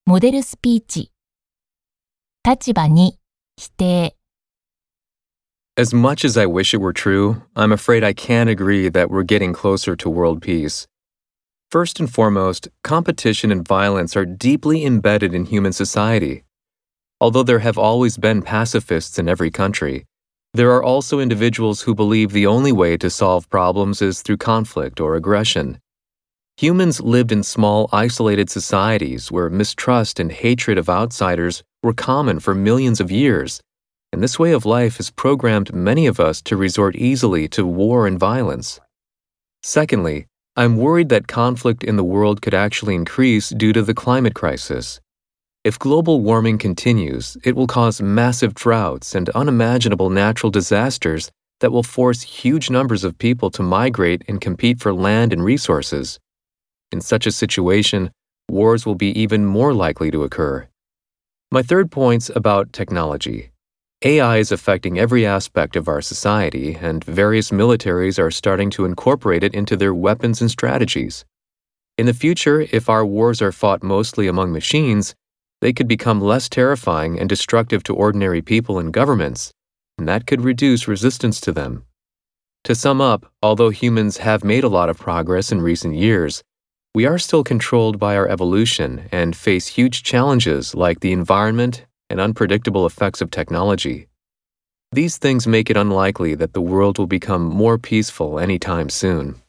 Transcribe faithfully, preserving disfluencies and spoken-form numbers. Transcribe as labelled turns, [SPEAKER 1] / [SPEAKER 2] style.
[SPEAKER 1] モデルスピーチ。立場に、否定。
[SPEAKER 2] As much as I wish it were true, I'm afraid I can't agree that we're getting closer to world peace. First and foremost, competition and violence are deeply embedded in human society. Although there have always been pacifists in every country, there are also individuals who believe the only way to solve problems is through conflict or aggression. Humans lived in small, isolated societies where mistrust and hatred of outsiders were common for millions of years, and this way of life has programmed many of us to resort easily to war and violence. Secondly, I'm worried that conflict in the world could actually increase due to the climate crisis. If global warming continues, it will cause massive droughts and unimaginable natural disasters that will force huge numbers of people to migrate and compete for land and resources. In such a situation, wars will be even more likely to occur. My third point's about technology. A I is affecting every aspect of our society, and various militaries are starting to incorporate it into their weapons and strategies. In the future, if our wars are fought mostly among machines, they could become less terrifying and destructive to ordinary people and governments, and that could reduce resistance to them. To sum up, although humans have made a lot of progress in recent years, we are still controlled by our evolution and face huge challenges like the environment and unpredictable effects of technology. These things make it unlikely that the world will become more peaceful anytime soon.